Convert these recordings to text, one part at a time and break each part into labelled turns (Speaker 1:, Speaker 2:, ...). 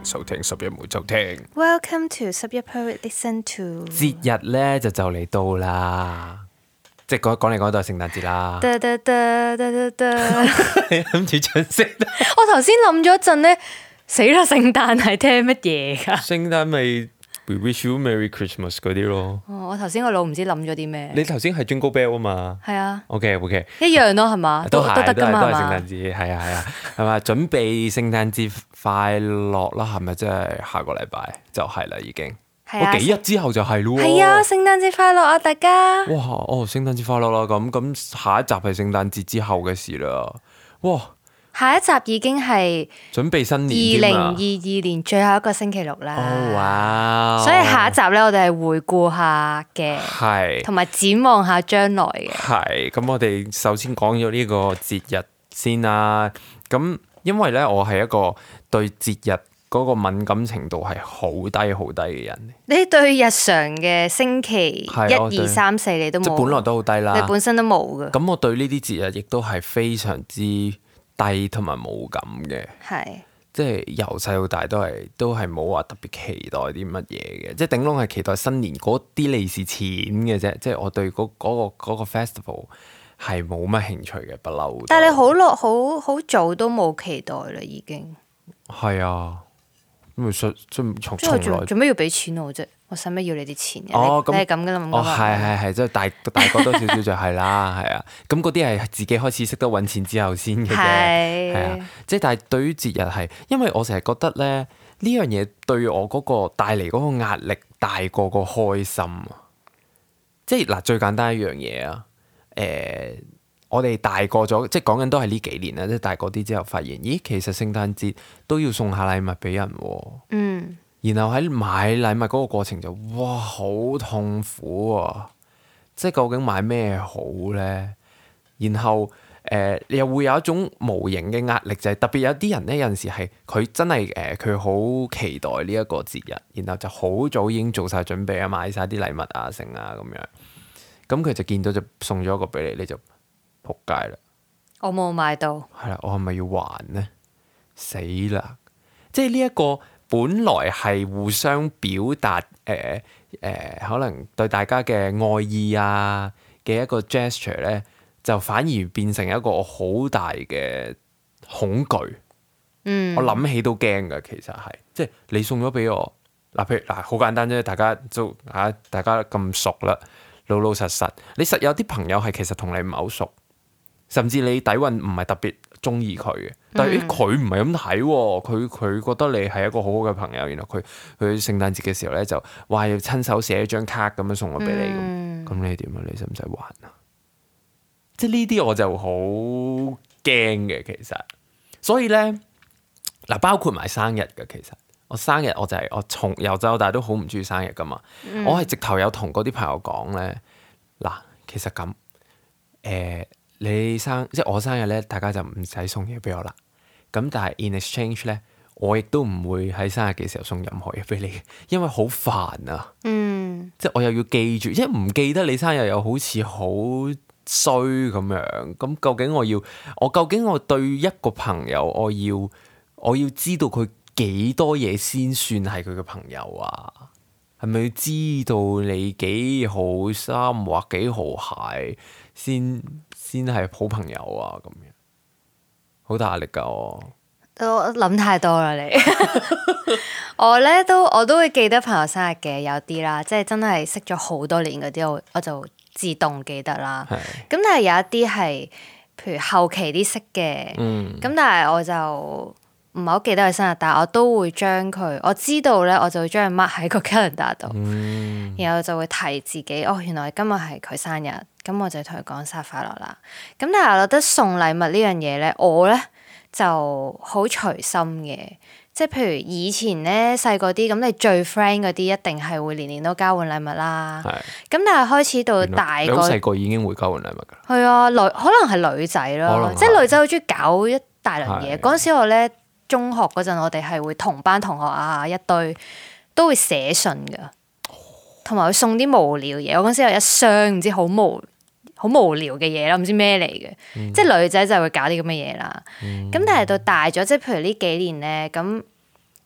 Speaker 1: 收聽十一每週聽。
Speaker 2: Welcome to 十一 per listen to。
Speaker 1: 節日咧就嚟到啦，即係講嚟講到係聖誕節啦。你諗住唱聖誕？
Speaker 2: 我頭先諗咗一陣咧，死啦！聖誕係聽乜嘢㗎？
Speaker 1: 聖誕咪 We wish you Merry Christmas 嗰啲咯。
Speaker 2: 我頭先個腦唔知諗咗啲咩。
Speaker 1: 你頭先係 Jingle Bell 啊嘛？
Speaker 2: 係啊。
Speaker 1: OK，
Speaker 2: 一樣咯，係嘛？都得㗎嘛？
Speaker 1: 都係聖誕節，係啊，係嘛？準備聖誕節快樂啦，係咪？即係下個禮拜就係啦，已經。我幾日之後就係咯喎。
Speaker 2: 係啊，聖誕節快樂啊，大家！
Speaker 1: 哇！聖誕節快樂啦！咁下一集係聖誕節之後嘅事啦。哇！
Speaker 2: 下一集已經係
Speaker 1: 準備新年添啦。
Speaker 2: 2022年最後一個星期六啦。
Speaker 1: 哇！
Speaker 2: 所以下一集咧，我哋係回顧下嘅，
Speaker 1: 係
Speaker 2: 同埋展望下將來嘅。
Speaker 1: 係咁，我哋首先講咗呢個節日先啦。咁因為咧，我係一個對節日嗰個敏感程度係好低好低嘅人。
Speaker 2: 你對日常嘅星期
Speaker 1: 係
Speaker 2: 1、2、3、4你都冇，
Speaker 1: 即係本來都好低啦。
Speaker 2: 你本身都冇嘅。
Speaker 1: 咁我對呢啲節日亦都係非常之低同埋冇感嘅。
Speaker 2: 係。
Speaker 1: 即係由細到大都係冇話特別期待啲乜嘢嘅，即係頂籠係期待新年嗰啲利是錢嘅啫。即係我對嗰個 festival 係冇乜興趣嘅，不嬲。
Speaker 2: 但係你好早都冇期待啦，已經。
Speaker 1: 係啊，咁咪從來
Speaker 2: 做咩要俾錢我啫？我使乜要你啲錢嘅？
Speaker 1: 咁
Speaker 2: 你係咁噶啦嘛？
Speaker 1: 係，即係大個多少少就係啦，係啊。咁嗰啲係自己開始識得揾錢之後先嘅啫，係啊。即係但係對於節日係，因為我成日覺得咧呢樣嘢對我嗰個帶嚟嗰個壓力大過個開心啊。即係嗱，最簡單一樣嘢啊，我哋大個咗，即係講緊都係呢幾年啦。即係大個啲之後，發現咦，其實聖誕節都要送下禮物俾人喎。
Speaker 2: 嗯。
Speaker 1: 然後喺買禮物嗰個過程就哇好痛苦啊！即係究竟買咩好咧？然後你又會有一種無形嘅壓力，就係特別有啲人咧，有陣時係佢真係佢好期待呢一個節日，然後就好早已經做晒準備啊，買晒啲禮物啊，剩啊咁樣。咁佢就見到就送咗一個俾你，你就仆街啦！
Speaker 2: 我冇買到。係
Speaker 1: 啦，我係咪要還呢？死啦！即係呢一個。本來係互相表達可能對大家嘅愛意啊嘅一個 gesture 咧，就反而變成一個好大嘅恐懼。我諗起都驚㗎，其實係即係你送咗俾我嗱，譬如嗱好簡單啫，大家咁熟啦，老老實實，你實有啲朋友係其實同你唔係好熟，甚至你底蘊唔係特別中意佢嘅，但係佢唔係咁睇喎，佢覺得你係一個好好嘅朋友，然後佢聖誕節嘅時候咧就話要親手寫一張卡咁樣送我俾你咁，你點啊？你使唔使還啊？即係呢啲我就好驚嘅，其實，所以咧嗱，包括埋生日嘅，其實我生日我就係我從由細到大都好唔中意生日噶嘛，我係直頭有同嗰啲朋友講咧，嗱，其實咁即係我生日咧，大家就唔使送嘢俾我啦。咁但係 in exchange 咧，我亦都唔會喺生日嘅時候送任何嘢俾你，因為好煩啊。即係我又要記住，即係唔記得你生日又好似好衰咁樣。咁究竟我對一個朋友，我要知道佢幾多嘢先算係佢嘅朋友啊？係咪要知道你幾號衫或幾號鞋先係好朋友啊？咁樣好大壓力㗎我
Speaker 2: 諗太多啦你。我都會記得朋友生日嘅，有啲啦，即係真係識咗好多年嗰啲，我就自動記得啦。咁但係有一啲係譬如後期啲識嘅，咁但係我就唔係好記得佢生日，但係我都會將佢，我知道咧，我就會將佢 mark 喺個 calendar 度，然後就會提自己，原來今日係佢生日，咁我就同佢講生日快樂啦。咁但係我覺得送禮物呢樣嘢咧，我咧就好隨心嘅，即係譬如以前咧細個啲，咁你最 friend 嗰啲一定係會年年都交換禮物啦。咁但係開始到大個，
Speaker 1: 細個已經會交換禮物㗎。
Speaker 2: 係啊，可能係女仔咯，即係女仔好中意搞一大輪嘢。嗰陣時我咧中學嗰陣，我哋係會同班同學啊一堆都會寫信㗎，同埋會送啲無聊嘢。我嗰陣時有一箱唔知好無聊嘅嘢啦，唔知咩嚟嘅，即係女仔就會搞啲咁嘅嘢啦。咁但係到大咗，即係譬如呢幾年咧，咁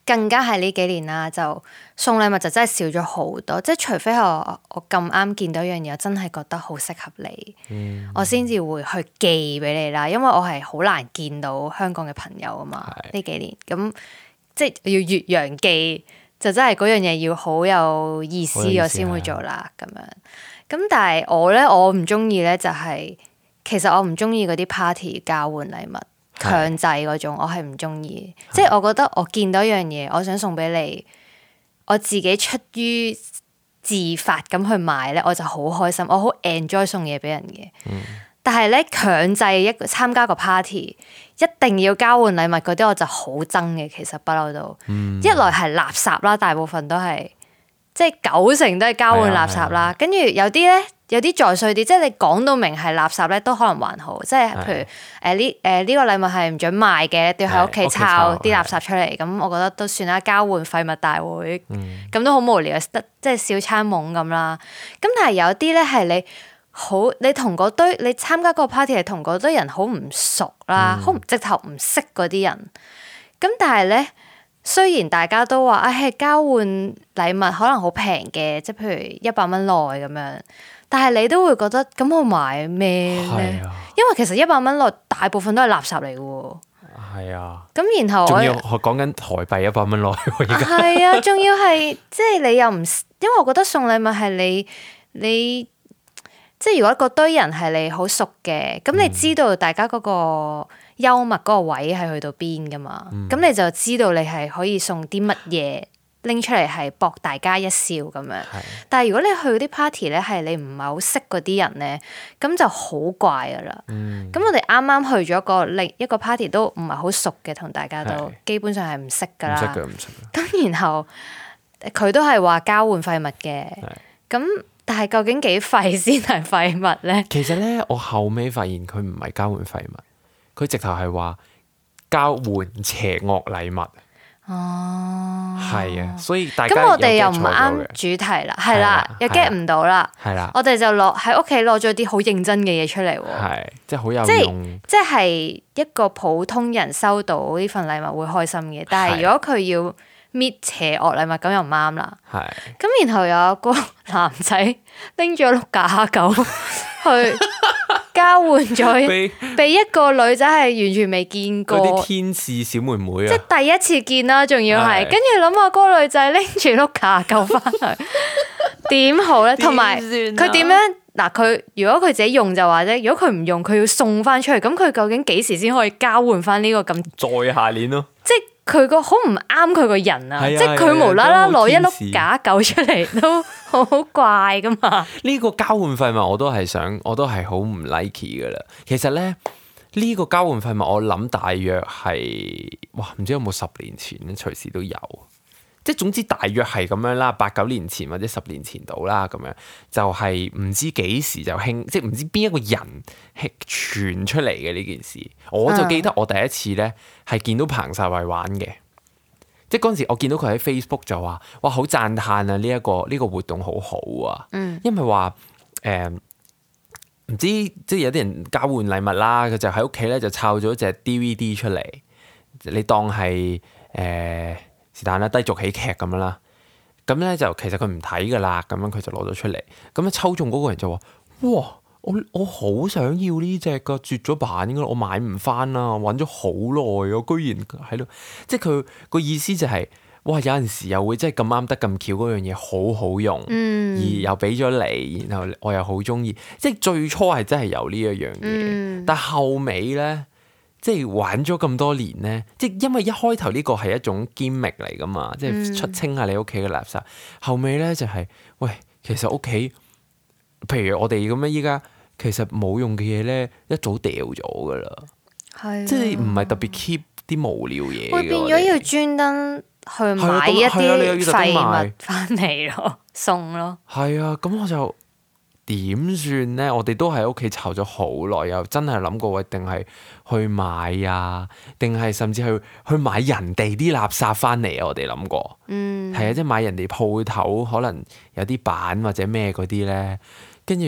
Speaker 2: 更加係呢幾年啦，就送禮物就真係少咗好多，即係除非我咁啱見到一樣嘢，我真係覺得好適合你，我先至會去寄俾你啦。因為我係好難見到香港嘅朋友啊嘛，呢幾年咁即係要越洋寄，就真係嗰樣嘢要好有意思，我先會做啦咁樣。咁但係我唔中意咧，就係其實我唔中意嗰啲 party 交換禮物。強制嗰種我係唔中意，即係我覺得我見到一樣嘢，我想送俾你，我自己出於自發咁去買咧，我就好開心，我好 enjoy 送嘢俾人嘅。但係咧強制參加個 party，一定要交換禮物嗰啲，我就好憎嘅。其實不嬲都，一來係垃圾啦，大部分都係，即係90%都係交換垃圾啦。跟住有啲咧。有啲再衰啲，即係你講到明係垃圾咧，都可能還好。即係譬如呢個禮物係唔準賣嘅，都要喺屋企抄啲垃圾出嚟。咁我覺得都算啦，交換廢物大會，咁都好無聊，即係小餐懵咁啦。咁但係有啲咧係你同嗰堆你參加嗰個 party 係同嗰堆人好唔熟啦，好直頭唔識嗰啲人。咁但係咧，雖然大家都話係交換禮物可能好平嘅，即係譬如100蚊內咁樣。但係你都會覺得咁我買咩咧？因為其實100蚊內大部分都係垃圾嚟嘅喎。係啊。咁然後
Speaker 1: 仲要我講緊台幣100蚊內喎，而家。
Speaker 2: 係啊，仲要係即係你又唔，因為我覺得送禮物係你即係如果嗰堆人係你好熟嘅，咁你知道大家嗰個幽默嗰個位係去到邊噶嘛？咁你就知道你係可以送啲乜嘢。拎出嚟係博大家一笑咁樣，但係如果你去嗰啲 party 咧，係你唔係好識嗰啲人咧，咁就好怪噶啦。咁我哋啱啱去咗另一個 party 都唔係好熟嘅，同大家都基本上係唔識噶啦。唔識嘅，唔識嘅。咁然後佢都係話交換廢物嘅，咁但係究竟幾廢先係廢物咧？
Speaker 1: 其實咧，我後尾發現佢唔係交換廢物，佢直頭係話交換邪惡禮物。
Speaker 2: 哦，
Speaker 1: 係啊，所以大家
Speaker 2: 咁我哋又唔啱主題啦，係啦，又 get 唔到啦，
Speaker 1: 係啦，
Speaker 2: 我哋就喺屋企攞咗啲好認真嘅嘢出嚟喎，
Speaker 1: 係，即係好有用，
Speaker 2: 即係一個普通人收到呢份禮物會開心嘅，但係如果佢要搣邪惡禮物咁又唔啱啦，係，咁然後有個男仔拎咗碌假狗去。交換咗俾一個女仔係完全未見過，
Speaker 1: 嗰啲天使小妹妹啊，
Speaker 2: 即係第一次見啦，仲要係跟住諗下嗰個女仔拎住碌假狗翻去，點好咧？同埋佢點樣嗱？佢如果佢自己用就話啫，如果佢唔用，佢要送翻出去，咁佢究竟幾時先可以交換翻呢個咁？
Speaker 1: 再下年咯，即係。
Speaker 2: 佢個好唔啱佢個人啊！即係佢無啦啦攞一碌假狗出嚟都好怪噶嘛！
Speaker 1: 呢個交換廢物我都係好唔 like 噶啦。其實咧，呢個交換廢物我諗大約係唔知有冇10年前咧，隨時都有。即係總之大約係咁樣啦，8、9年前或者10年前到啦，咁樣就係唔知幾時就興，即係唔知邊一個人傳出嚟嘅呢件事。我就記得我第一次咧係見到彭世偉玩嘅，即係嗰陣時我見到佢喺 Facebook 就話：哇，好讚歎啊！呢一個活動好好啊，因為話唔知即係有啲人交換禮物啦，佢就喺屋企咧就抄咗隻 DVD 出嚟，你當係是但啦，低俗喜劇咁樣啦，咁咧就其實佢唔睇噶啦，咁樣佢就攞咗出嚟，咁樣抽中嗰個人就話：哇，我好想要呢隻噶，絕咗版噶，我買唔翻啦，揾咗好耐，我居然喺度，即係佢個意思就係，哇，有陣時又會真係咁啱得咁巧嗰樣嘢好好用，而又俾咗你，然後我又好中意，即係最初係真係有呢一樣嘢，但後尾咧。即係玩咗咁多年咧，即係因為一開頭呢個係一種 gimmick 嚟噶嘛，即係出清下你屋企嘅垃圾。後尾咧就係，喂，其實屋企，譬如我哋咁樣依家，其實冇用嘅嘢咧，一早掉咗噶啦，即係唔係特別 keep 啲無聊嘢。
Speaker 2: 會變咗要專登去買一啲廢物翻嚟咯，送咯。係
Speaker 1: 啊，咁我就。點算咧？我哋都喺屋企湊咗好耐，又真係諗過喂，定係去買啊？定係甚至去買人哋啲垃圾翻嚟啊？我哋諗過，係啊，即係買人哋鋪頭可能有啲板或者咩嗰啲咧，跟住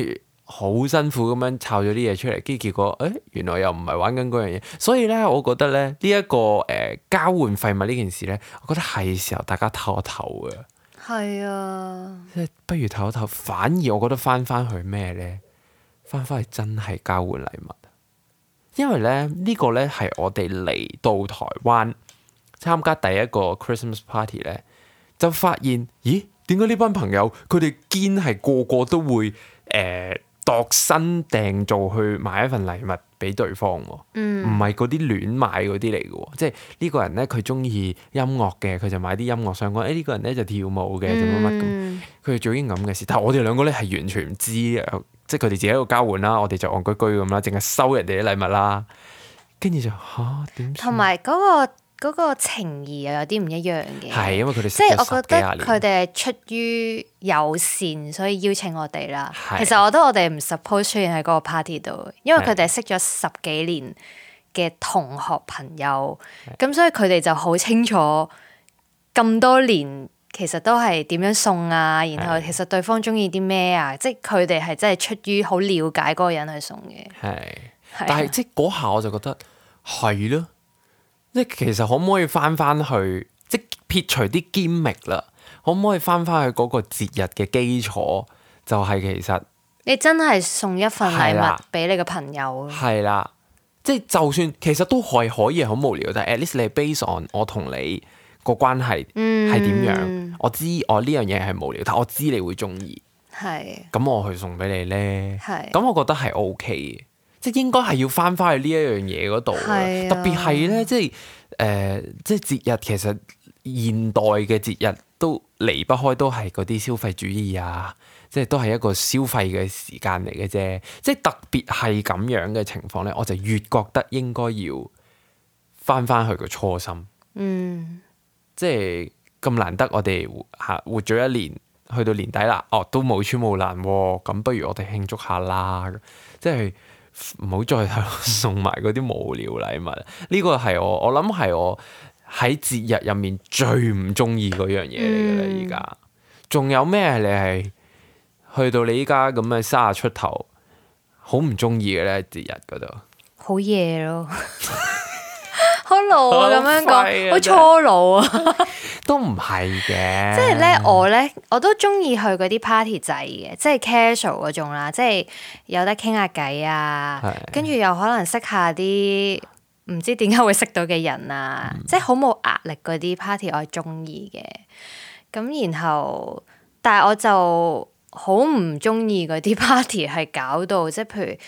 Speaker 1: 好辛苦咁樣抄咗啲嘢出嚟，跟住結果原來又唔係玩緊嗰樣嘢，所以咧我覺得咧呢一個交換廢物呢件事咧，我覺得係時候大家唞一唞嘅。
Speaker 2: 係啊，
Speaker 1: 即係不如唞一唞，反而我覺得翻去咩咧？翻去真係交換禮物，因為咧呢個咧係我哋嚟到台灣參加第一個 Christmas party 咧，就發現咦，點解呢班朋友佢哋堅係個個都會度身訂做去買一份禮物俾對方喎，唔係嗰啲亂買嗰啲嚟嘅喎，即係呢個人咧佢中意音樂嘅，佢就買啲音樂相關；呢個人咧就跳舞嘅，就乜乜咁，佢哋做啲咁嘅事。但係我哋兩個咧係完全唔知，即係佢哋自己喺度交換啦，我哋就戇居居咁啦，淨係收人哋啲禮物啦，跟住就點？
Speaker 2: 同埋嗰個情誼又有啲唔一樣嘅，
Speaker 1: 係因為佢哋
Speaker 2: 即係我覺得佢哋係出於友善，所以邀請我哋啦。
Speaker 1: 係
Speaker 2: 其實我覺得我哋唔 suppose 出現喺嗰個 party 度，因為佢哋係識咗10幾年嘅同學朋友，咁所以佢哋就好清楚咁多年其實都係點樣送啊，然後其實對方中意啲咩啊，即係佢哋係真係出於好了解嗰個人去送嘅。
Speaker 1: 係，但係即係嗰下我就覺得係咯。即係其實可唔可以翻去，即撇除啲gimmick啦，可唔可以翻去嗰個節日嘅基礎？就係其實
Speaker 2: 你真係送一份禮物俾你嘅朋友。
Speaker 1: 係啦，即係就算其實都可以係好無聊，但係 at least 你係 base on 我同你個關係係點樣？我知我呢樣嘢係無聊，但我知你會中意。
Speaker 2: 係。
Speaker 1: 咁我去送俾你咧。
Speaker 2: 係。
Speaker 1: 咁我覺得係 OK 嘅。即係應該係要翻去呢一樣嘢嗰度，特別係咧，即係節日其實現代嘅節日都離不開都係嗰啲消費主義啊，即係都係一個消費嘅時間嚟嘅啫。即係特別係咁樣嘅情況咧，我就越覺得應該要翻去個初心。即係咁難得我哋活咗一年，去到年底啦，都冇穿冇爛喎，咁不如我哋慶祝下啦，即係。唔好再送埋嗰啲無聊禮物，呢個係我諗係我喺節日入面最唔中意嗰樣嘢嚟嘅啦。而家仲有咩你係去到你依家咁嘅30出頭，好唔中意嘅咧？節日嗰度
Speaker 2: 好夜咯，好老啊！咁樣講，好初老啊！
Speaker 1: 都唔係嘅，
Speaker 2: 即係咧，我都中意去嗰啲 party 仔嘅，即係 casual 嗰種啦，即係有得傾下偈啊，跟住又可能識下啲唔知點解會識到嘅人啊，即係好冇壓力嗰啲 party，我係中意嘅。咁然後，但係我就好唔中意嗰啲 party 係搞到即係譬如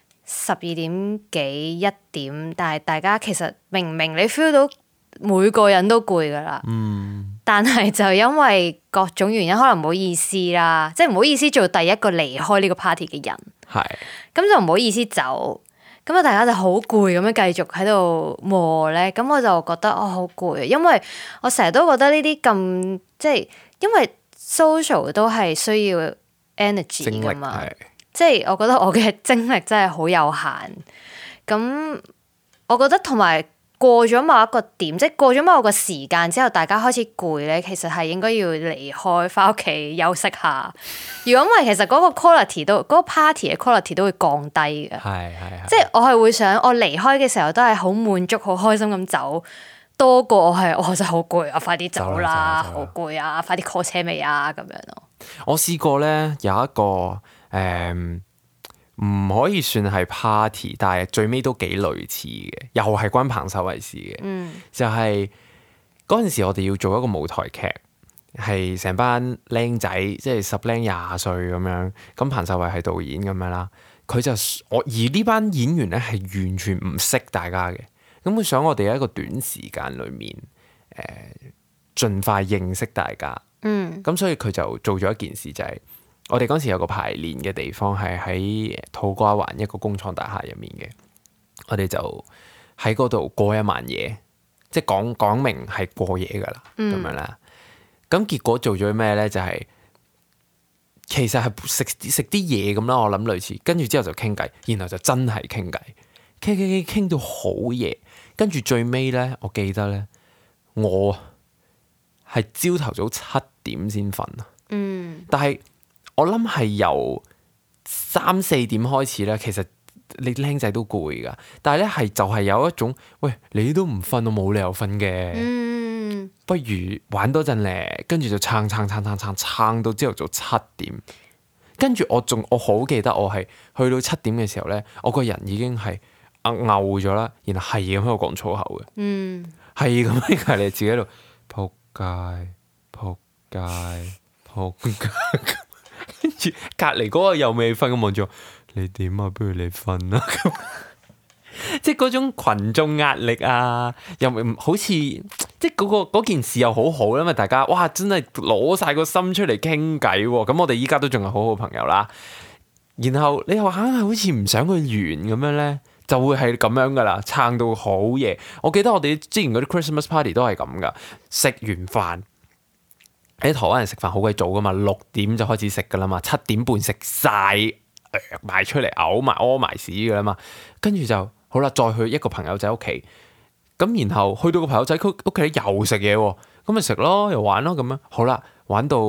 Speaker 2: 12點幾1點，但係大家其實明你 feel 到。每個人都攰噶啦，但係就因為各種原因，可能唔好意思啦，即係唔好意思做第一個離開呢個 party 嘅人，咁就唔好意思走，咁啊大家就好攰咁樣繼續喺度磨咧，咁我就覺得好攰，因為我成日都覺得呢啲咁即係，因為 social 都係需要 energy 噶嘛，即係我覺得我嘅精力真係好有限，咁我覺得同埋。過咗某一個點，即係過咗某個時間之後，大家開始攰咧，其實係應該要離開，翻屋企休息下。如果唔係，其實嗰個 quality 嗰個 party 嘅 quality 都會降低嘅。係。即係我係會想，我離開嘅時候都係好滿足、好開心咁走，多過我真係好攰啊！快啲走啦，好攰啊！快啲 call 車尾啊！咁樣咯。我
Speaker 1: 試過咧，有一個唔可以算係 party，但係最尾都幾類似嘅，又係關彭秀慧事嘅。就係嗰陣時，我哋要做一個舞台劇，係成班僆仔，即係10零20歲咁樣。咁彭秀慧係導演咁樣啦，而呢班演員咧係完全唔識大家嘅。咁佢想我哋喺一個短時間裏面，盡快認識大家。咁所以佢就做咗一件事，就係。我哋嗰時有個排練嘅地方係喺土瓜灣一個工廠大廈入面嘅，我哋就喺嗰度過一晚夜，即係講明係過夜噶啦，咁樣啦。咁結果做咗咩咧？就係其實係食啲嘢咁啦，我諗類似，跟住之後就傾偈，然後就真係傾偈，傾到好夜，跟住最尾咧，我記得咧，我係朝頭早7點先瞓啊，但係。我諗係由 3-4點開始咧，其實你僆仔都攰㗎，但係咧就係有一種，喂，你都唔瞓，我冇理由瞓嘅，不如玩多陣咧，跟住就撐到朝頭早7點，跟住我好記得我係去到7點嘅時候咧，我個人已經係嘔咗啦，然後係咁喺度講粗口嘅，係咁喺隔離自己喺度仆街，跟住隔離嗰個又未瞓咁望住我，你點啊？不如你瞓啦咁，即係嗰種群眾壓力啊，又唔好似即係嗰件事又好好啦嘛，大家哇真係攞晒個心出嚟傾偈喎，咁我哋依家都仲係好好朋友啦。然後你又硬係好似唔想佢完咁樣咧，就會係咁樣噶啦，撐到好夜。我記得我哋之前嗰啲 Christmas party 都係咁噶，食完飯。喺台灣人食飯好鬼早噶嘛，6點就開始食噶啦嘛，7點半食晒埋出嚟屙埋屎噶啦嘛，跟住就好啦，再去一個朋友仔屋企，咁然後去到個朋友仔屋企又食嘢喎，咁咪食咯，又玩咯咁樣，好啦，玩到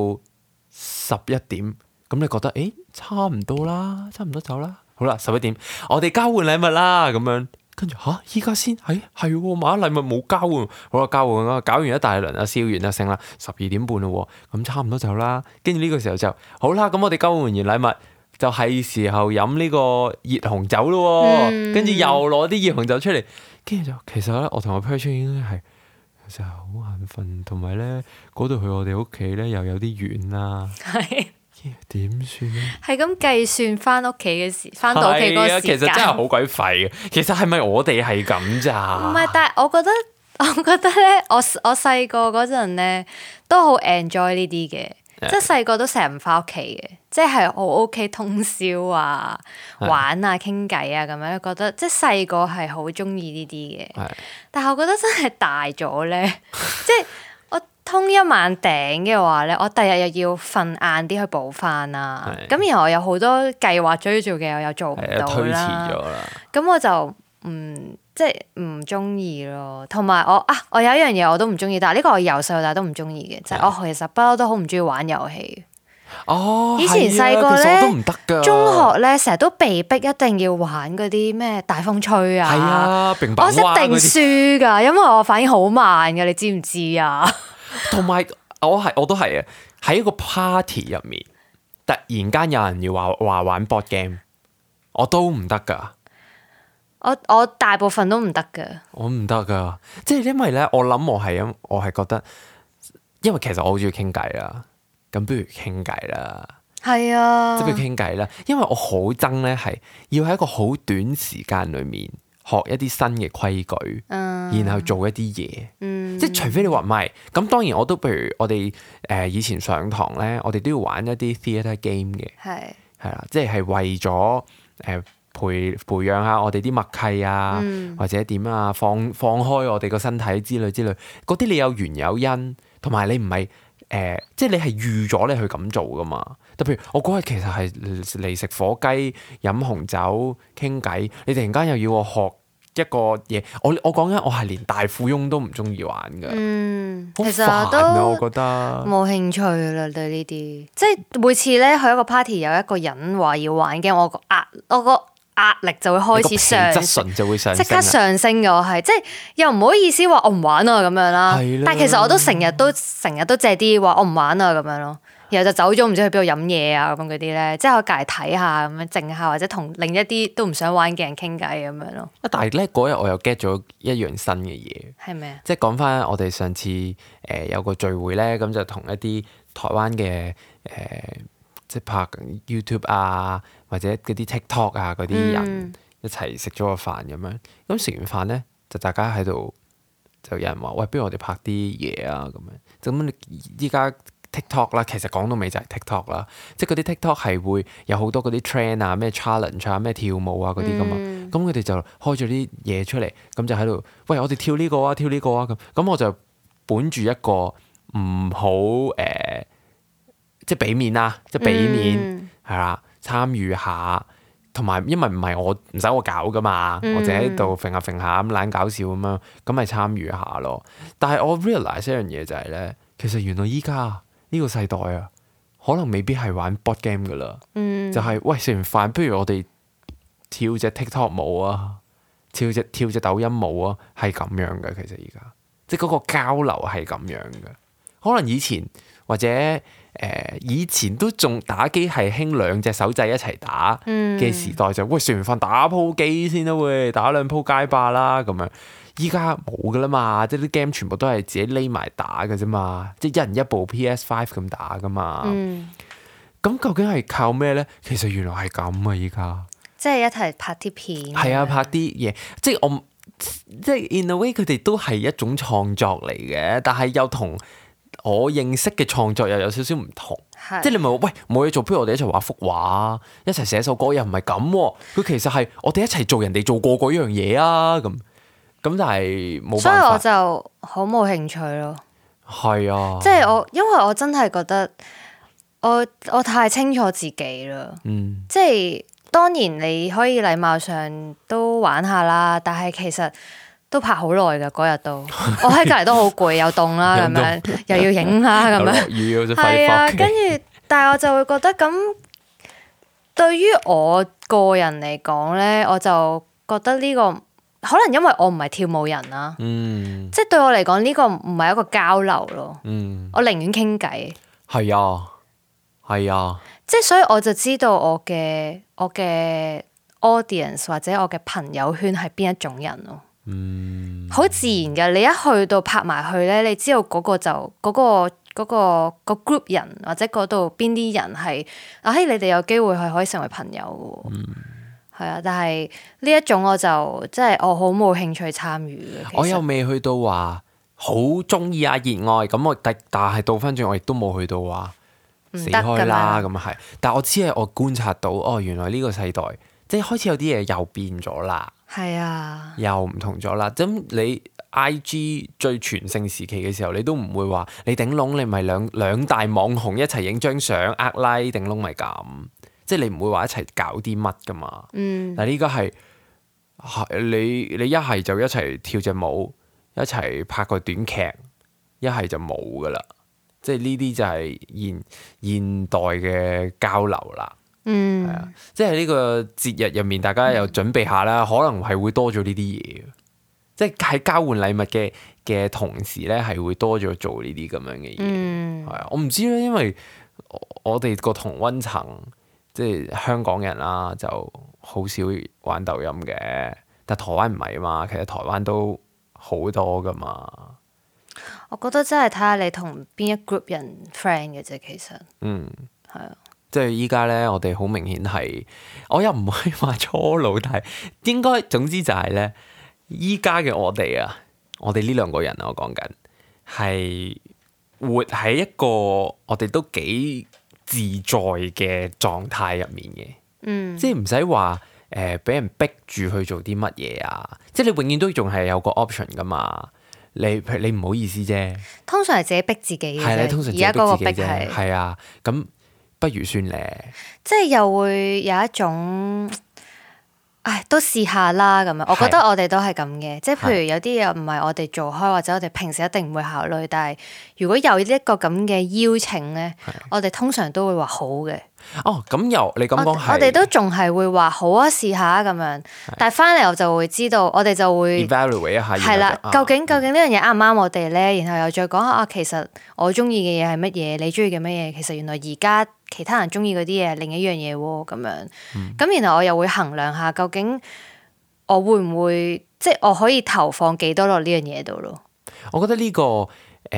Speaker 1: 11點，咁你覺得差唔多啦，差唔多走啦，好啦11點，我哋交換禮物啦咁樣。跟住依家先係買咗禮物冇交換，好啦，交換啦，搞完一大輪啦，燒完啦，剩啦12點半咯，咁差唔多走啦。跟住呢個時候就好啦，咁我哋交換完禮物就係時候飲呢個熱紅酒咯。跟住又攞啲熱紅酒出嚟，跟住就其實咧，我同我 partner 已經係其實好眼瞓，同埋咧嗰度去我哋屋企咧又有啲遠啦。點算咧？係咁計算翻到屋企嗰個時間，其實真係好鬼廢嘅。其實係咪我哋係咁咋？唔係，但係我覺得咧，我細個嗰陣咧都好 enjoy 呢啲嘅，即係細個都成日唔翻屋企嘅，即係我 OK 通宵啊、玩啊、傾偈啊咁樣，覺得即係細個係好中意呢啲嘅。但係我覺得真係大咗咧，即係。通一晚頂嘅話咧，我第日又要瞓晏啲去補翻啦。咁然後我有好多計劃追做嘅，我又做唔到啦。推遲咗啦。咁我就即係唔中意咯。同埋我有一樣嘢我都唔中意，但係呢個我由細到大都唔中意嘅，就係我其實不嬲都好唔中意玩遊戲。以前細個咧，都唔得㗎。中學咧成日都被逼一定要玩嗰啲咩大風吹啊。係啊，我一定輸㗎，因為我反應好慢㗎，你知唔知啊？同埋我都係啊！喺一個 party 入面，突然間有人要話玩 board game，我都唔得噶。我大部分都唔得噶。我唔得噶，即係因為咧，我係覺得，因為其實我好中意傾偈啦，咁不如傾偈啦。係啊，即係不如傾偈啦，因為我好憎咧，係要喺一個好短時間裏面學一啲新嘅規矩，然後做一啲嘢，即係除非你話唔係，咁當然我都譬如我哋以前上堂咧，我哋都要玩一啲 theatre game 嘅，係啦，即係為咗培養下我哋啲默契啊，或者點啊，放開我哋個身體之類，嗰啲你有緣有因，同埋你唔係即係你係預咗你去咁做噶嘛。特別我嗰日其實係嚟食火雞、飲紅酒、傾偈，你突然間又要我學一個嘢，我講緊我係連大富翁都唔中意玩噶，好煩啊！我覺得冇興趣啦對呢啲，即係每次咧去一個 party 有一個人話要玩嘅，我個壓力就會開始即刻上升嘅。我係即係又唔好意思話我唔玩啊咁樣啦，但係其實我都成日都借啲話我唔玩啊咁樣咯。然後就走咗，唔知去邊度飲嘢啊咁嗰啲咧，即係我隔籬睇下咁樣靜下，或者同另一啲都唔想玩嘅人傾偈咁樣咯。但係咧嗰日我又 get 咗一樣新嘅嘢，係咩啊？即係講翻我哋上次有個聚會咧，咁就同一啲台灣嘅即係拍 YouTube 啊，或者嗰啲 TikTok 啊嗰啲人一齊食咗個飯咁樣。咁食完飯咧，就大家喺度就有人話：喂，不如我哋拍啲嘢啊咁樣。咁你依家TikTok 啦，其實講到尾就係 TikTok 啦，即係嗰啲 TikTok 係會有好多嗰啲 trend 啊、咩 challenge 啊、咩跳舞啊嗰啲噶嘛，咁佢哋就開咗啲嘢出嚟，咁就喺度，喂，我哋跳呢個啊，跳呢個啊咁我就本住一個唔好即係俾面啦，即係俾面係啦，參與下，同埋因為唔係我唔使我搞噶嘛，我就喺度揈下揈下咁懶搞笑咁樣，咁咪參與下咯。但係我 realize 一樣嘢就係咧，其實原來依家呢個世代啊， 可能未必係玩 board game 噶啦，就係喂食完飯，不如我哋跳隻 TikTok 舞啊，跳隻抖音舞啊，係咁樣嘅。其實而家即係嗰個交流係咁樣嘅。可能以前或者以前都仲打機係興兩隻手掣一齊打嘅時代，就喂食完飯打鋪機先啦，喂打兩鋪街霸啦咁樣。依家冇噶啦嘛，即係啲 game 全部都係自己匿埋打嘅啫嘛，即係一人一部 PS5 咁打噶嘛。咁究竟係靠咩咧？其實原來係咁啊！依家
Speaker 2: 即係一齊拍啲片。
Speaker 1: 係啊，拍啲嘢，即係 in a way 佢哋都係一種創作嚟嘅，但係又同我認識嘅創作又有少少唔同。即係你咪話喂冇嘢做，不如我哋一齊畫幅畫，一齊寫首歌，又唔係咁喎。佢其實係我哋一齊做人哋做過嗰樣嘢啊咁。咁但係冇辦法，
Speaker 2: 所以我就好冇興趣咯。
Speaker 1: 係啊，
Speaker 2: 即係因為我真係覺得我太清楚自己啦。即係當然你可以禮貌上都玩下啦，但係其實都拍好耐噶嗰日都，我喺隔籬都好攰，又凍啦咁樣，又要影啦咁樣，係啊，跟住但係我就會覺得咁，對於我個人嚟講咧，我就覺得呢個。可能因為我唔係跳舞人啦，即係對我嚟講呢個唔係一個交流咯，我寧願傾偈。係啊，
Speaker 1: 係啊，
Speaker 2: 即係所以我就知道我嘅 audience 或者我嘅朋友圈係邊一種人咯，好自然嘅。你一去到拍埋去咧，你知道嗰個就嗰個 group 人或者嗰度邊啲人係你哋有機會係可以成為朋友嘅。係啊，但係呢一種我就即係我好冇興趣參與嘅。
Speaker 1: 我又未去到話好中意啊熱愛咁，但係倒翻轉我亦都冇去到話死開啦咁係。但係我只係我觀察到原來呢個世代即係開始有啲嘢又變咗啦。
Speaker 2: 係啊，
Speaker 1: 又唔同咗啦。咁你 IG 最全盛時期嘅時候，你都唔會話你頂籠你咪兩大網紅一齊影張相呃 like 頂籠咪咁。即係你唔會話一齊搞啲乜噶嘛，但係呢家係你一係就一齊跳隻舞，一齊拍個短劇，一係就冇噶啦。即係呢啲就係現代嘅交流啦。係啊，即係呢個節日入面，大家又準備下啦，可能係會多咗呢啲嘢。即係喺交換禮物嘅同時咧，係會多咗做呢啲咁樣嘅嘢。係啊，我唔知咧，因為我哋個同溫層。即係香港人啦，就好少玩抖音嘅，但台灣唔係啊嘛，其實台灣都好多噶嘛。
Speaker 2: 我覺得真係睇下你同邊一 group 人 friend 嘅啫，其實。係啊。
Speaker 1: 即係依家咧，我哋好明顯係，我又唔可以話初老，但係應該總之就係咧，依家嘅我哋啊，我哋呢兩個人啊，我講緊係活喺一個我哋都幾自在嘅狀態入面嘅，即係唔使話俾人逼住去做啲乜嘢啊！即係你永遠都仲係有個 option 噶嘛。你唔好意思啫，
Speaker 2: 通常係自己逼自己嘅啫。
Speaker 1: 係啦，通常自己逼自己啫。
Speaker 2: 係
Speaker 1: 係啊，咁不如算咧。
Speaker 2: 即係又會有一種。都試下啦咁樣，我覺得我哋都係咁嘅，即係譬如有啲嘢唔係我哋做開，或者我哋平時一定唔會考慮，但係如果有一個咁嘅邀請咧，我哋通常都會話好嘅。
Speaker 1: 咁又你咁講
Speaker 2: 我哋都仲係會話好啊，試下咁樣，但係翻嚟我就會知道，我哋就會
Speaker 1: evaluate 一下，
Speaker 2: 係啦，究竟呢樣嘢啱唔啱我哋咧？然後又再講下其實我中意嘅嘢係乜嘢，你中意嘅乜嘢？其實原來而家其他人中意嗰啲嘢係另一樣嘢喎，咁樣。咁然後我又會衡量下，究竟我會唔會即係我可以投放幾多落呢樣嘢度咯？
Speaker 1: 我覺得呢個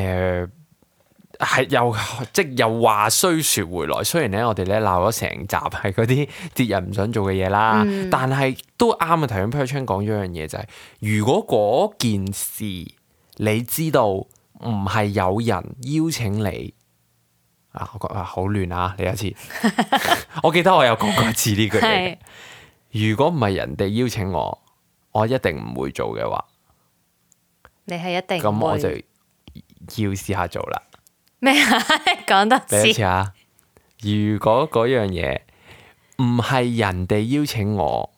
Speaker 1: 係又話雖說回來，雖然咧我哋咧鬧咗成集係嗰啲節日唔想做嘅嘢啦，但係都啱啊！頭先 Perchan 講咗一樣嘢就係，如果嗰件事你知道唔係有人邀請你我覺得好亂啊！呢一次，我記得我有講過一次呢句嘢。如果唔係人哋邀請我，我一定唔會做嘅話，
Speaker 2: 你係一定
Speaker 1: 咁我就要試下做啦。
Speaker 2: 咩啊？講得
Speaker 1: 第一次啊！如果嗰樣嘢唔係人哋邀請我，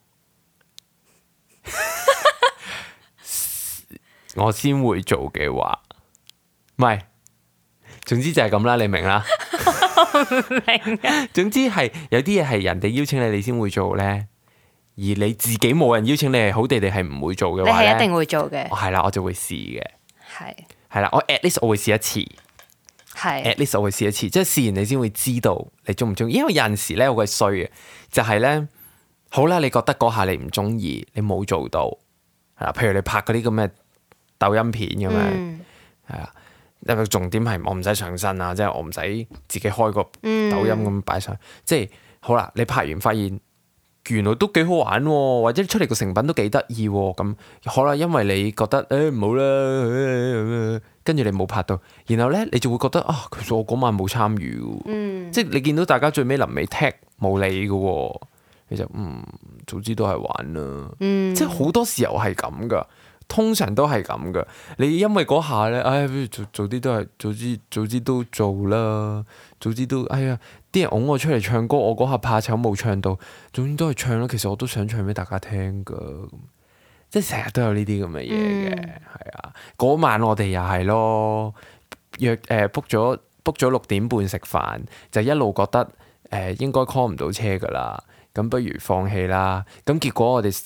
Speaker 1: 我先會做嘅話，唔係，總之就係咁啦，你明啦。
Speaker 2: 明啊。
Speaker 1: 總之係有啲嘢係人哋邀請你，你先會做咧，而你自己冇人邀請你，係好地地係唔會做嘅話咧，
Speaker 2: 你係一定會做嘅。
Speaker 1: 係啦，我就會試嘅。
Speaker 2: 係
Speaker 1: 啦，我 at least 我會試一次。
Speaker 2: 係
Speaker 1: at least 我會試一次，即係試完你先會知道你中唔中意。因為有陣時咧，我係衰嘅，就係咧，好啦，你覺得嗰下你唔中意，你冇做到，係啦，譬如你拍嗰啲咁嘅抖音片咁樣，係啊。因為重點係我唔使上身啊，即係我唔使自己開個抖音咁擺上，即係好啦。你拍完發現原來都幾好玩喎，或者出嚟個成品都幾得意喎，咁好啦。因為你覺得唔好啦，跟住你冇拍到，然後咧你就會覺得啊，其實我嗰晚冇參與嘅，即係你見到大家最尾臨尾踢冇理嘅喎，你就早知都係玩啦，即係好多時候係咁噶。通常都係咁噶，你因為嗰下咧，早啲都係早知都做啦，早知都啲人擁我出嚟唱歌，我嗰下怕醜冇唱到，總之都係唱啦。其實我都想唱俾大家聽噶，即係成日都有呢啲咁嘅嘢嘅，係啊。嗰晚我哋又係咯，約book 咗6點半食飯，就一路覺得應該 call 唔到車噶啦，咁不如放棄啦。咁結果我哋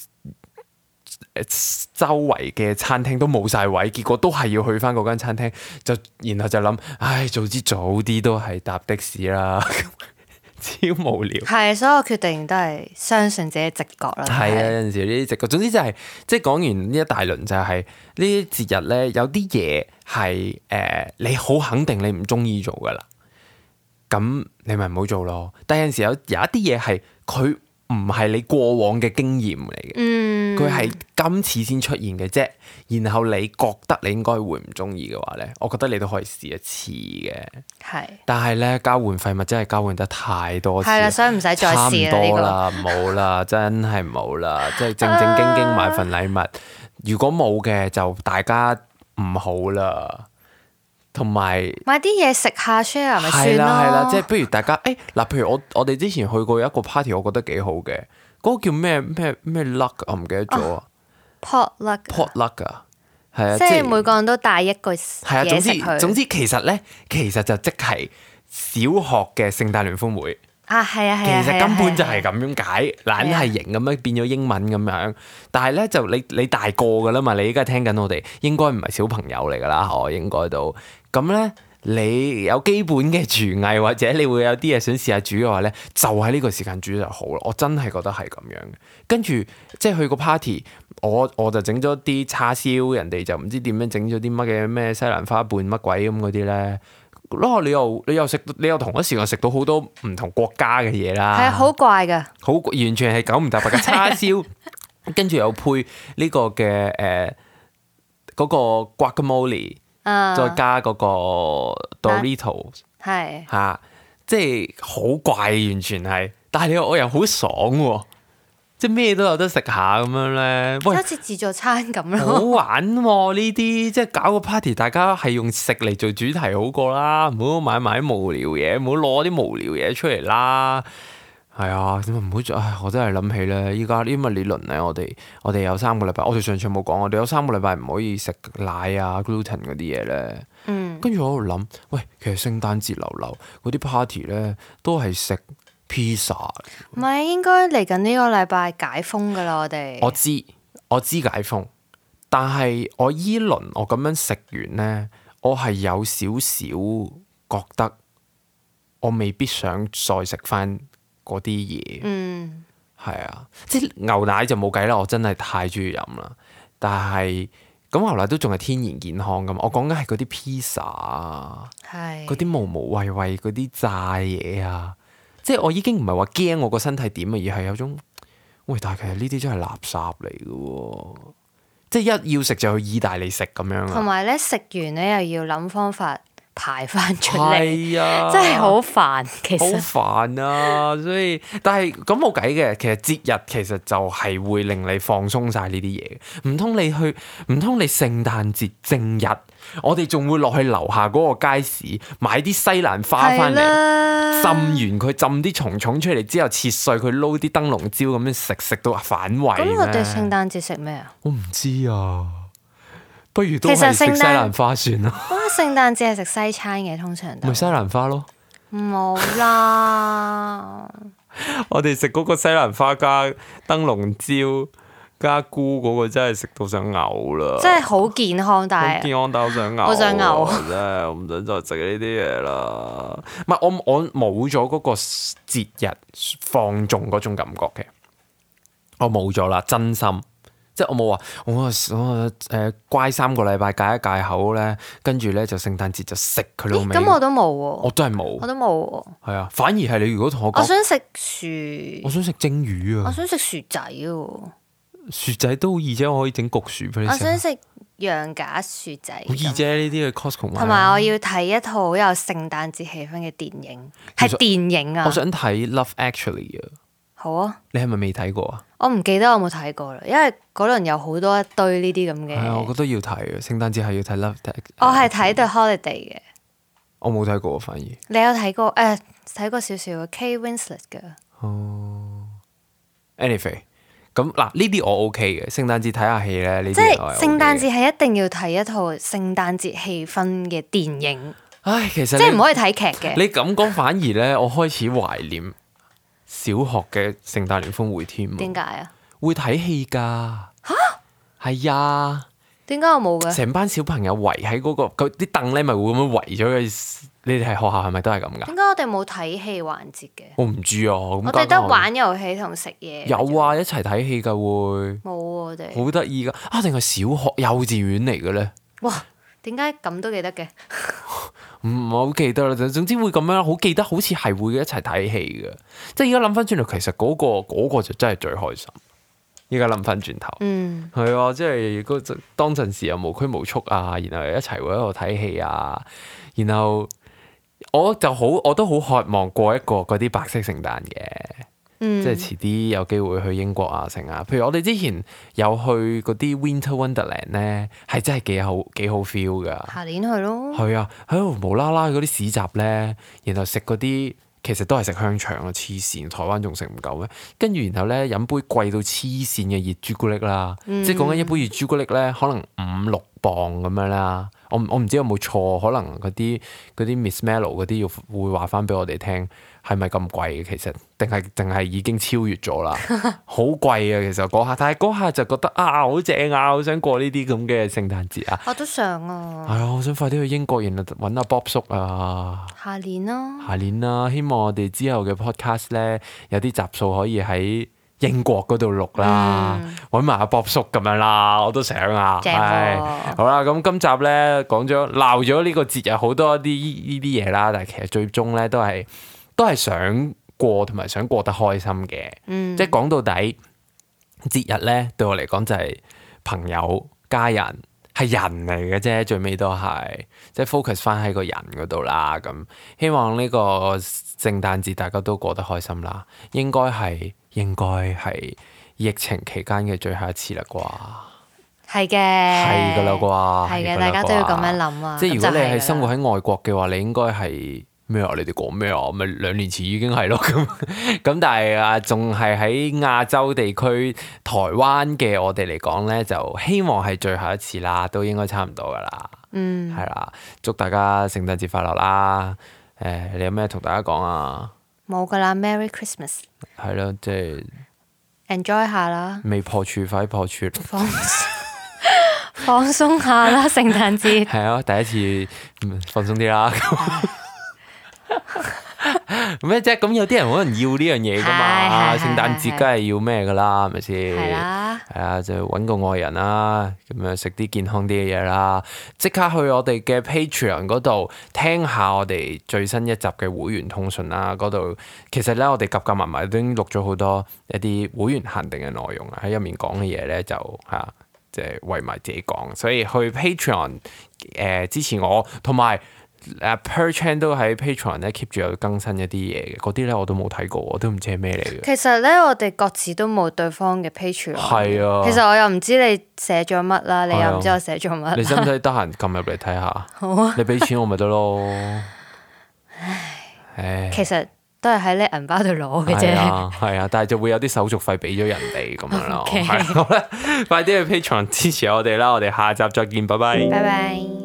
Speaker 1: 周圍嘅餐廳都冇晒位，結果都係要去翻嗰間餐廳，然後就諗，早知早啲都係搭的士啦，超無聊。
Speaker 2: 係，所有決定都係相信自己直覺啦。
Speaker 1: 係啊，有陣時呢啲直覺，總之就係即係講完呢一大輪就係呢啲節日咧，有啲嘢係你好肯定你唔中意做噶啦，咁你咪唔好做咯。但係有陣時有一啲嘢係佢唔係你過往嘅經驗嚟嘅，佢係今次先出現嘅啫。然後你覺得你應該會唔中意嘅話咧，我覺得你都可以試一次嘅。
Speaker 2: 係，
Speaker 1: 但係咧交換廢物真係交換得太多次，
Speaker 2: 係啦，所以唔使再試啦。
Speaker 1: 差唔多啦，冇啦，真係冇啦，即係正正經經買份禮物。如果冇嘅就大家唔好啦。同埋
Speaker 2: 買啲嘢食下 share 咪算咯，
Speaker 1: 係啦，即係不如大家嗱，譬如我哋之前去過一個 party， 我覺得幾好嘅，嗰個叫咩 luck 我唔記得咗啊 potluck 啊，係啊，
Speaker 2: 即係每個人都帶一個嘢食去。
Speaker 1: 總之其實就即係小學嘅聖誕聯歡會
Speaker 2: 啊，係啊，
Speaker 1: 其實根本就係咁樣解，懶係型咁樣變咗英文咁樣。但係咧就你大個噶啦嘛，你依家聽緊我哋，應該唔係小朋友嚟噶啦，我應該都咁咧。你有基本嘅廚藝，或者你會有啲嘢想試下煮嘅話咧，就喺呢個時間煮就好啦。我真係覺得係咁樣嘅。跟住即係去個 party，我就整咗啲叉燒，人哋就唔知點樣整咗啲乜嘅咩西蘭花拌乜鬼咁嗰啲咧。你又同一時間食到好多唔同國家嘅嘢啦。
Speaker 2: 係啊，好怪㗎，
Speaker 1: 好完全係九唔搭八嘅叉燒，跟住又配呢個嘅嗰個 guacamole。再加嗰個 Doritos
Speaker 2: 係
Speaker 1: 嚇，即係好怪，完全係。但係我又好爽喎，即係咩都有得食下咁樣咧。喂，
Speaker 2: 好似自助餐咁咯，
Speaker 1: 好玩喎呢啲，即係搞個 party，大家係用食嚟做主題好過啦，唔好買埋啲無聊嘢，唔好攞啲無聊嘢出嚟啦。係啊，點解唔好做？我真係諗起咧，依家呢個理論咧，我哋有3個禮拜，我哋上次冇講，我哋有3個禮拜唔可以食奶啊、gluten 嗰啲嘢咧。跟住我喺度諗，喂，其實聖誕節流嗰啲 party 咧，都係食 pizza。
Speaker 2: 唔係應該嚟緊呢個禮拜解封噶啦，我哋。
Speaker 1: 我知解封，但係我依輪我咁樣食完咧，我係有少少覺得我未必想再食翻嗰啲嘢，係啊，即係牛奶就冇計啦，我真係太中意飲啦。但係咁牛奶都仲係天然健康噶嘛，我講緊係嗰啲 pizza 啊，嗰啲無無謂謂嗰啲炸嘢啊，即係我已經唔係話驚我個身體點啊，而係有種喂，但係其實呢啲真係垃圾嚟嘅喎，即係一要食就去意大利食咁樣啊。
Speaker 2: 同埋咧食完咧又要諗方法排翻出嚟，
Speaker 1: 係啊，
Speaker 2: 真係好煩，其實
Speaker 1: 好煩啊！所以，但係咁冇計嘅。其實節日其實就係會令你放鬆晒呢啲嘢。唔通你聖誕節正日，我哋仲會落去樓下嗰個街市買啲西蘭花翻嚟，浸完佢，浸啲蟲蟲出嚟之後切碎佢，撈啲燈籠椒咁樣食到反胃。
Speaker 2: 咁我哋聖誕節食咩啊？
Speaker 1: 我唔知啊。不如都係食西蘭花算啦。
Speaker 2: 聖誕節係食西餐嘅，通常都
Speaker 1: 咪西蘭花咯。
Speaker 2: 冇啦。
Speaker 1: 我哋食嗰個西蘭花加燈籠椒加菇嗰個真係食到想嘔啦！
Speaker 2: 真係好健康，但係
Speaker 1: 健康但我想嘔，
Speaker 2: 我想嘔
Speaker 1: 真係我唔想再食呢啲嘢啦。唔係我冇咗嗰個節日放縱嗰種感覺嘅，我冇咗啦，真心。即係我冇話我乖3個禮拜戒一戒口咧，跟住咧就聖誕節就食佢老味。
Speaker 2: 咁我都冇喎，
Speaker 1: 我都係冇，
Speaker 2: 我都冇喎。
Speaker 1: 係啊，反而係你如果同我講，
Speaker 2: 我想食薯，
Speaker 1: 我想食蒸魚啊，
Speaker 2: 我想食薯仔喎，
Speaker 1: 薯仔都好易啫，我可以整焗薯俾你食。
Speaker 2: 我想食羊架薯仔，
Speaker 1: 好易啫，呢啲去 Costco 買。
Speaker 2: 同埋我要睇一套好有聖誕節氣氛嘅電影，係電影啊！
Speaker 1: 我想睇 Love Actually 啊。
Speaker 2: 好啊！
Speaker 1: 你係咪未睇過啊？
Speaker 2: 我唔記得我有冇睇過啦，因為嗰輪有好多一堆呢啲咁嘅。
Speaker 1: 係啊，我覺得要睇啊！聖誕節係要睇 Love。
Speaker 2: 我係睇 The Holiday 嘅。
Speaker 1: 我冇睇過，反而。
Speaker 2: 你有睇過？睇過少少 Kate Winslet 嘅。
Speaker 1: 哦。Anyway，咁嗱呢啲我 OK 嘅，聖誕節睇下戲咧，呢啲
Speaker 2: 即係
Speaker 1: 我係 OK
Speaker 2: 聖誕節係一定要睇一套聖誕節氣氛嘅電影。
Speaker 1: 唉，其實
Speaker 2: 即係唔可以睇劇嘅。
Speaker 1: 你咁講反而咧，我開始懷念小學嘅聖誕聯歡會添。
Speaker 2: 點解啊？
Speaker 1: 會睇戲㗎。嚇？係啊。
Speaker 2: 點解我冇嘅？
Speaker 1: 成班小朋友圍喺嗰個啲凳咧，咪會咁樣圍咗佢。你哋係學校係咪都係咁㗎？
Speaker 2: 點解我哋冇睇戲環節嘅？
Speaker 1: 我唔知啊。我
Speaker 2: 哋得玩遊戲同食嘢。
Speaker 1: 有啊，一齊睇戲㗎會。
Speaker 2: 冇我哋。
Speaker 1: 好得意㗎啊！定係小學幼稚園嚟嘅咧？
Speaker 2: 哇！點解咁都記得嘅？
Speaker 1: 唔係好記得啦，總之會咁樣，好記得好似係會一齊睇戲嘅。即係而家諗翻轉頭，其實嗰個就真係最開心。而家諗翻轉頭，係啊，即係當陣時又無拘無束啊，然後一齊會喺度睇戲啊，然後我都好渴望過一個嗰啲白色聖誕嘅。即係遲啲有機會去英國啊，成啊。譬如我哋之前有去嗰啲 Winter Wonderland 咧，係真係幾好 feel 噶。
Speaker 2: 下年去咯。
Speaker 1: 係啊，喺度無啦啦嗰啲市集咧，然後食嗰啲其實都係食香腸啊，黐線！台灣仲食唔夠咩？跟住然後咧飲杯貴到黐線嘅熱朱古力啦，即係講緊一杯熱朱古力咧，可能5-6磅咁樣啦。我唔知有冇錯，可能嗰啲 Miss Mellow 嗰啲會話翻俾我哋聽，係咪咁貴？其實定係已經超越咗啦，好貴啊！其實嗰下，但係嗰下就覺得啊，好正啊，好想過呢啲咁嘅聖誕節啊！
Speaker 2: 我都想啊！
Speaker 1: 係啊，我想快啲去英國，然後揾阿 Bob 叔啊！
Speaker 2: 下年咯，
Speaker 1: 下年啦，希望我哋之後嘅 podcast 咧有啲集數可以喺英國嗰度錄啦，揾埋阿 Bob 叔咁樣啦，我都想啊。
Speaker 2: 正
Speaker 1: 係好啦，咁今集咧講咗鬧咗呢個節日好多呢啲嘢啦，但係其實最終咧都係想過同埋想過得開心嘅。即係講到底節日咧對我嚟講就係朋友家人。係人嚟嘅啫，最尾都係即係 focus 翻喺個人嗰度啦。咁希望呢個聖誕節大家都過得開心啦。應該係疫情期間嘅最後一次啦啩。
Speaker 2: 係嘅，
Speaker 1: 係噶啦啩。
Speaker 2: 係嘅，大家都要咁樣諗啊。
Speaker 1: 即係如果你係生活喺外國嘅話，你應該係咩啊？你哋講咩啊？咪2年前已經係咯咁。咁但係啊，仲係喺亞洲地區台灣嘅我哋嚟講咧，就希望係最後一次啦，都應該差唔多噶啦。係啦，祝大家聖誕節快樂啦！你有咩同大家講啊？
Speaker 2: 冇噶啦 ，Merry Christmas。
Speaker 1: 係咯，即係
Speaker 2: enjoy 下啦。
Speaker 1: 未破處快破處。
Speaker 2: 放鬆下啦，聖誕節。
Speaker 1: 係啊，第一次放鬆啲啦。咩啫？咁有啲人可能要呢樣嘢噶嘛？聖誕節梗係要咩噶啦？係咪先？係啦。係啊，就揾個愛人啦，咁樣食啲健康啲嘅嘢啦。即刻去我哋嘅 Patreon 嗰度聽下我哋最新一集嘅會員通訊啦。嗰度其實咧，我哋夾埋埋都已經錄咗好多一啲會員限定嘅內容啊。喺入面講嘅嘢咧，就嚇即係為埋自己講。所以去 Patreon 支持我，同埋。Per Chan 都喺 Patreon 咧 keep 住有更新一啲嘢嘅，嗰啲咧我都冇睇過，我都唔知係咩嚟嘅。
Speaker 2: 其實咧，我哋各自都冇對方嘅 Patreon。
Speaker 1: 係啊。其
Speaker 2: 實我又唔知你寫咗乜啦，你又唔知我寫咗乜。
Speaker 1: 你使唔使得閒撳入嚟睇下？
Speaker 2: 好啊。
Speaker 1: 你俾錢我咪得咯。
Speaker 2: 唉。其實都係喺你銀包度攞嘅啫。
Speaker 1: 係啊，但係就會有啲手續費俾咗人哋咁樣咯。係好啦，快啲去 Patreon 支持我哋啦！我哋下集再見，拜拜。
Speaker 2: 拜拜。